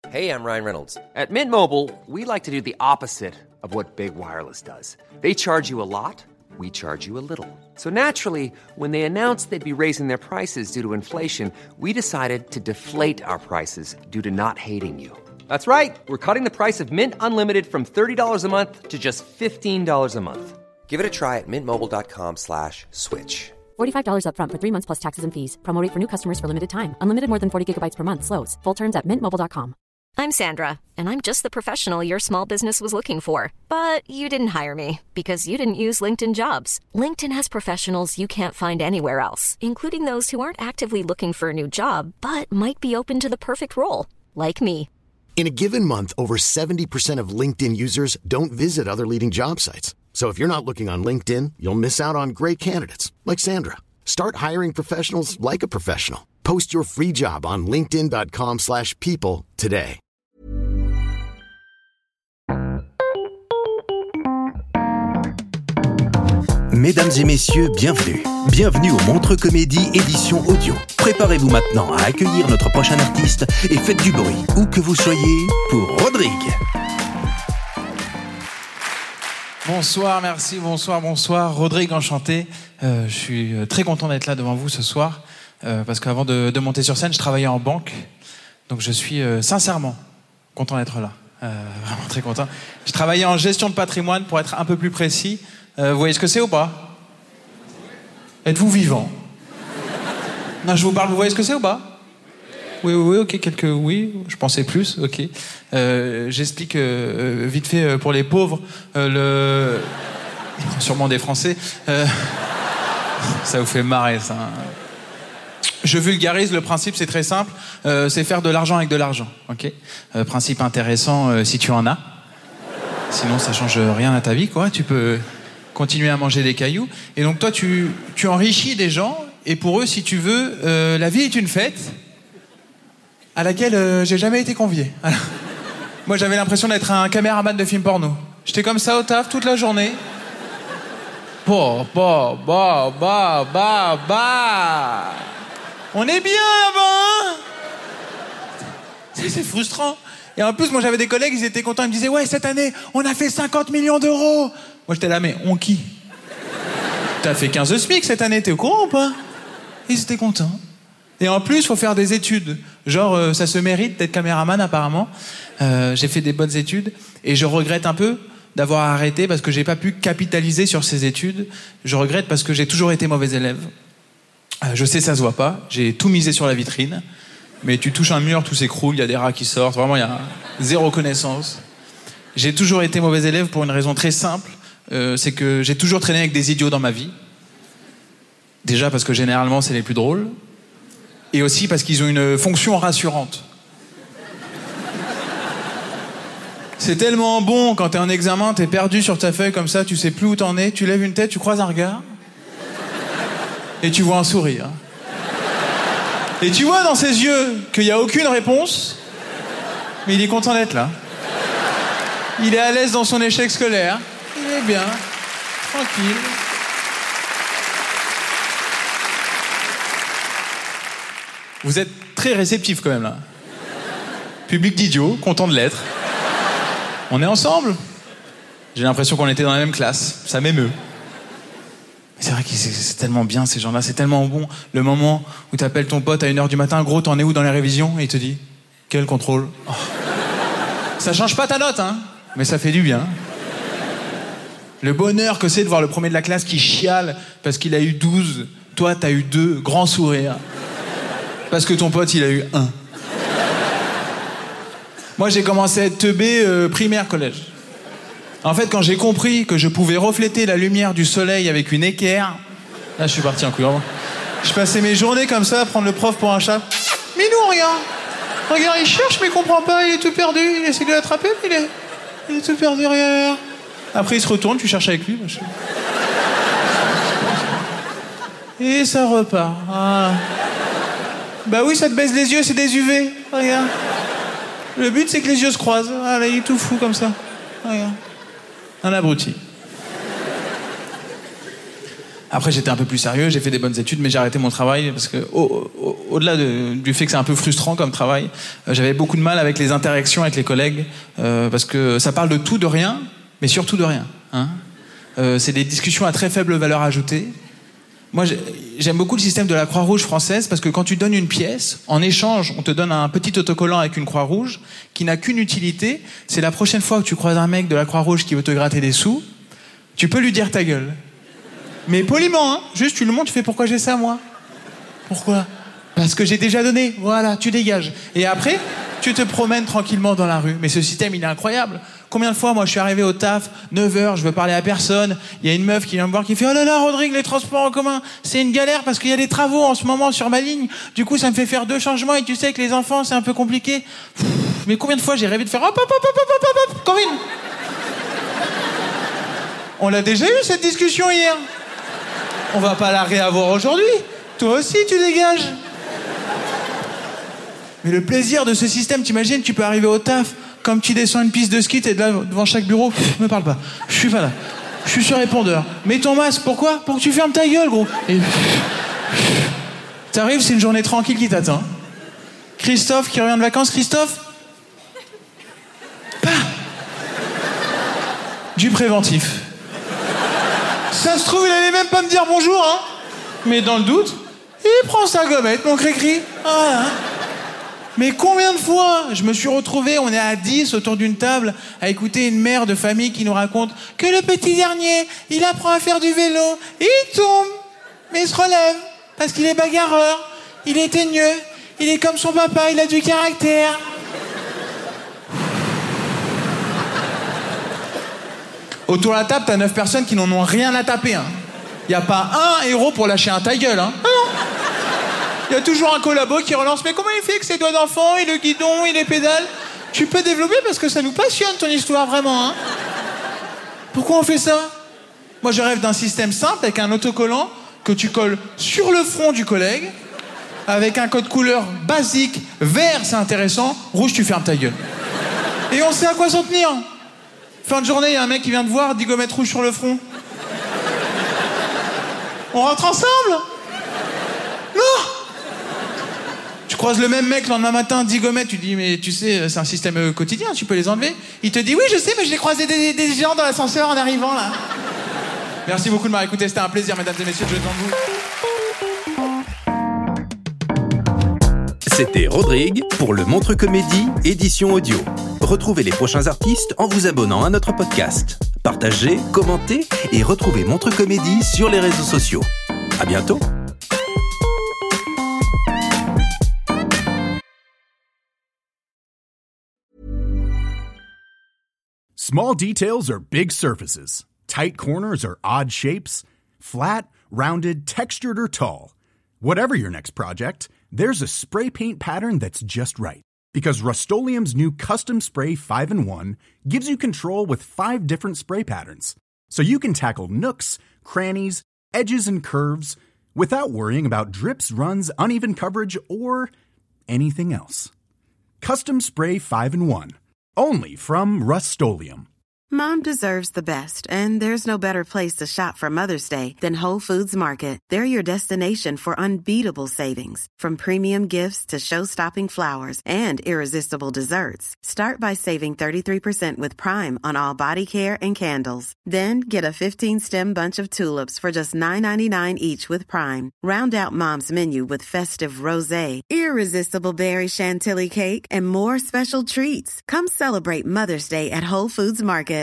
Hey, I'm Ryan Reynolds. At Mint Mobile, we like to do the opposite of what Big Wireless does. They charge you a lot, we charge you a little. So naturally, when they announced they'd be raising their prices due to inflation, we decided to deflate our prices due to not hating you. That's right. We're cutting the price of Mint Unlimited from $30 a month to just $15 a month. Give it a try at mintmobile.com/switch. $45 up front for 3 months plus taxes and fees. Promo rate for new customers for limited time. Unlimited more than 40 gigabytes per month. Slows full terms at mintmobile.com. I'm Sandra, and I'm just the professional your small business was looking for. But you didn't hire me because you didn't use LinkedIn Jobs. LinkedIn has professionals you can't find anywhere else, including those who aren't actively looking for a new job, but might be open to the perfect role, like me. In a given month, over 70% of LinkedIn users don't visit other leading job sites. So if you're not looking on LinkedIn, you'll miss out on great candidates like Sandra. Start hiring professionals like a professional. Post your free job on linkedin.com/people today. Mesdames et messieurs, bienvenue. Bienvenue au Montreux Comédie édition audio. Préparez-vous maintenant à accueillir notre prochain artiste et faites du bruit, où que vous soyez, pour Rodrigue. Bonsoir, merci, bonsoir. Rodrigue, enchanté. Je suis très content d'être là devant vous ce soir, parce qu'avant de monter sur scène, je travaillais en banque. Donc je suis sincèrement content d'être là. Vraiment très content. Je travaillais en gestion de patrimoine, pour être un peu plus précis. Vous voyez ce que c'est ou pas? Êtes-vous vivant? Non, je vous parle, vous voyez ce que c'est ou pas? Oui, ok, oui, je pensais plus, ok. J'explique vite fait pour les pauvres, sûrement des Français. Ça vous fait marrer, ça. Je vulgarise, le principe c'est très simple, c'est faire de l'argent avec de l'argent, ok. Principe intéressant si tu en as. Sinon ça change rien à ta vie, quoi. Tu peux continuer à manger des cailloux. Et donc toi, tu enrichis des gens, et pour eux, si tu veux, la vie est une fête à laquelle j'ai jamais été convié. Alors, moi, j'avais l'impression d'être un caméraman de film porno. J'étais comme ça au taf toute la journée. On est bien là-bas, hein. C'est frustrant. Et en plus, moi, j'avais des collègues, ils étaient contents. Ils me disaient, ouais, cette année, on a fait 50 millions d'euros. Moi, j'étais là, mais on qui? T'as fait 15 SMIC cette année, t'es au courant ou pas? Ils étaient contents. Et en plus, il faut faire des études. Genre, ça se mérite d'être caméraman, apparemment. J'ai fait des bonnes études. Et je regrette un peu d'avoir arrêté parce que j'ai pas pu capitaliser sur ces études. Je regrette parce que j'ai toujours été mauvais élève. Je sais, ça se voit pas. J'ai tout misé sur la vitrine. Mais tu touches un mur, tout s'écroule, il y a des rats qui sortent. Vraiment, il y a zéro connaissance. J'ai toujours été mauvais élève pour une raison très simple. C'est que j'ai toujours traîné avec des idiots dans ma vie. Déjà parce que généralement, c'est les plus drôles. Et aussi parce qu'ils ont une fonction rassurante. C'est tellement bon quand t'es en examen, t'es perdu sur ta feuille comme ça, tu sais plus où t'en es, tu lèves une tête, tu croises un regard, et tu vois un sourire. Et tu vois dans ses yeux qu'il n'y a aucune réponse, mais il est content d'être là. Il est à l'aise dans son échec scolaire, il est bien, tranquille. Vous êtes très réceptif quand même là. Public d'idiots, content de l'être. On est ensemble. J'ai l'impression qu'on était dans la même classe. Ça m'émeut. C'est vrai que c'est tellement bien ces gens-là, c'est tellement bon. Le moment où t'appelles ton pote à 1h du matin, gros, t'en es où dans les révisions? Et il te dit, quel contrôle? Oh. Ça change pas ta note, hein, mais ça fait du bien. Le bonheur que c'est de voir le premier de la classe qui chiale parce qu'il a eu 12. Toi, t'as eu 2, grand sourire. Parce que ton pote, il a eu 1. Moi, j'ai commencé à être teubé primaire, collège. En fait, quand j'ai compris que je pouvais refléter la lumière du soleil avec une équerre, là, je suis parti en couille. Je passais mes journées comme ça à prendre le prof pour un chat. Mais non, regarde. Regarde, il cherche, mais il comprend pas, il est tout perdu. Il essaie de l'attraper, mais il est tout perdu, regarde. Après, il se retourne, tu cherches avec lui. Et ça repart. Ah. Bah oui, ça te baisse les yeux, c'est des UV. Regarde. Le but, c'est que les yeux se croisent. Ah, là, il est tout fou comme ça. Regarde. Un abruti. Après, j'étais un peu plus sérieux, j'ai fait des bonnes études, mais j'ai arrêté mon travail parce que, au-delà du fait que c'est un peu frustrant comme travail, j'avais beaucoup de mal avec les interactions avec les collègues, parce que ça parle de tout, de rien, mais surtout de rien. Hein. C'est des discussions à très faible valeur ajoutée. Moi, j'aime beaucoup le système de la Croix-Rouge française parce que quand tu donnes une pièce, en échange, on te donne un petit autocollant avec une Croix-Rouge qui n'a qu'une utilité. C'est la prochaine fois que tu croises un mec de la Croix-Rouge qui veut te gratter des sous, tu peux lui dire ta gueule. Mais poliment, hein. Juste, tu le montres, tu fais pourquoi j'ai ça, moi? Pourquoi? Parce que j'ai déjà donné. Voilà, tu dégages. Et après, tu te promènes tranquillement dans la rue. Mais ce système, il est incroyable. Combien de fois, moi, je suis arrivé au taf, 9h, je veux parler à personne. Il y a une meuf qui vient me voir qui fait « Oh là là, Rodrigue, les transports en commun, c'est une galère parce qu'il y a des travaux en ce moment sur ma ligne. Du coup, ça me fait faire 2 changements et tu sais que les enfants, c'est un peu compliqué. » Mais combien de fois j'ai rêvé de faire « Hop, hop, hop, hop, hop, hop, hop, Corinne !» On l'a déjà eu, cette discussion, hier. On va pas la réavoir aujourd'hui. Toi aussi, tu dégages. Mais le plaisir de ce système, t'imagines, tu peux arriver au taf, comme tu descends une piste de ski, t'es là devant chaque bureau, me parle pas. Je suis pas là. Je suis sur répondeur. Mets ton masque, pourquoi? Pour que tu fermes ta gueule, gros. Et t'arrives, c'est une journée tranquille qui t'attend. Christophe qui revient de vacances, Christophe. Bah. Du préventif. Ça se trouve, il allait même pas me dire bonjour, hein. Mais dans le doute, il prend sa gommette, mon cri-cri. Voilà. Mais combien de fois je me suis retrouvé, on est à 10 autour d'une table, à écouter une mère de famille qui nous raconte que le petit dernier, il apprend à faire du vélo, et il tombe, mais il se relève, parce qu'il est bagarreur, il est teigneux, il est comme son papa, il a du caractère. Autour de la table, t'as 9 personnes qui n'en ont rien à taper. Hein. Y a pas un héros pour lâcher un ta gueule. Hein. Ah non. Il y a toujours un collabo qui relance. Mais comment il fait avec ses doigts d'enfant, et le guidon, et les pédales? Tu peux développer parce que ça nous passionne ton histoire, vraiment. Hein. Pourquoi on fait ça? Moi, je rêve d'un système simple avec un autocollant que tu colles sur le front du collègue, avec un code couleur basique. Vert, c'est intéressant. Rouge, tu fermes ta gueule. Et on sait à quoi s'en tenir. Fin de journée, il y a un mec qui vient te voir, 10 gommettes rouges sur le front. On rentre ensemble? Non! Tu croises le même mec le lendemain matin, 10 gommettes, tu dis, mais tu sais, c'est un système quotidien, tu peux les enlever. Il te dit, oui, je sais, mais je l'ai croisé des gens dans l'ascenseur en arrivant, là. Merci beaucoup de m'avoir écouté, c'était un plaisir, mesdames et messieurs, je devant vous. C'était Rodrigue pour le Montre Comédie, édition audio. Retrouvez les prochains artistes en vous abonnant à notre podcast. Partagez, commentez et retrouvez Montre Comédie sur les réseaux sociaux. À bientôt. Small details are big surfaces. Tight corners are odd shapes. Flat, rounded, textured, or tall. Whatever your next project, there's a spray paint pattern that's just right. Because Rust-Oleum's new Custom Spray 5-in-1 gives you control with 5 different spray patterns. So you can tackle nooks, crannies, edges, and curves without worrying about drips, runs, uneven coverage, or anything else. Custom Spray 5-in-1. Only from Rust-Oleum. Mom deserves the best, and there's no better place to shop for Mother's Day than Whole Foods Market. They're your destination for unbeatable savings, from premium gifts to show-stopping flowers and irresistible desserts. Start by saving 33% with Prime on all body care and candles. Then get a 15-stem bunch of tulips for just $9.99 each with Prime. Round out Mom's menu with festive rosé, irresistible berry chantilly cake, and more special treats. Come celebrate Mother's Day at Whole Foods Market.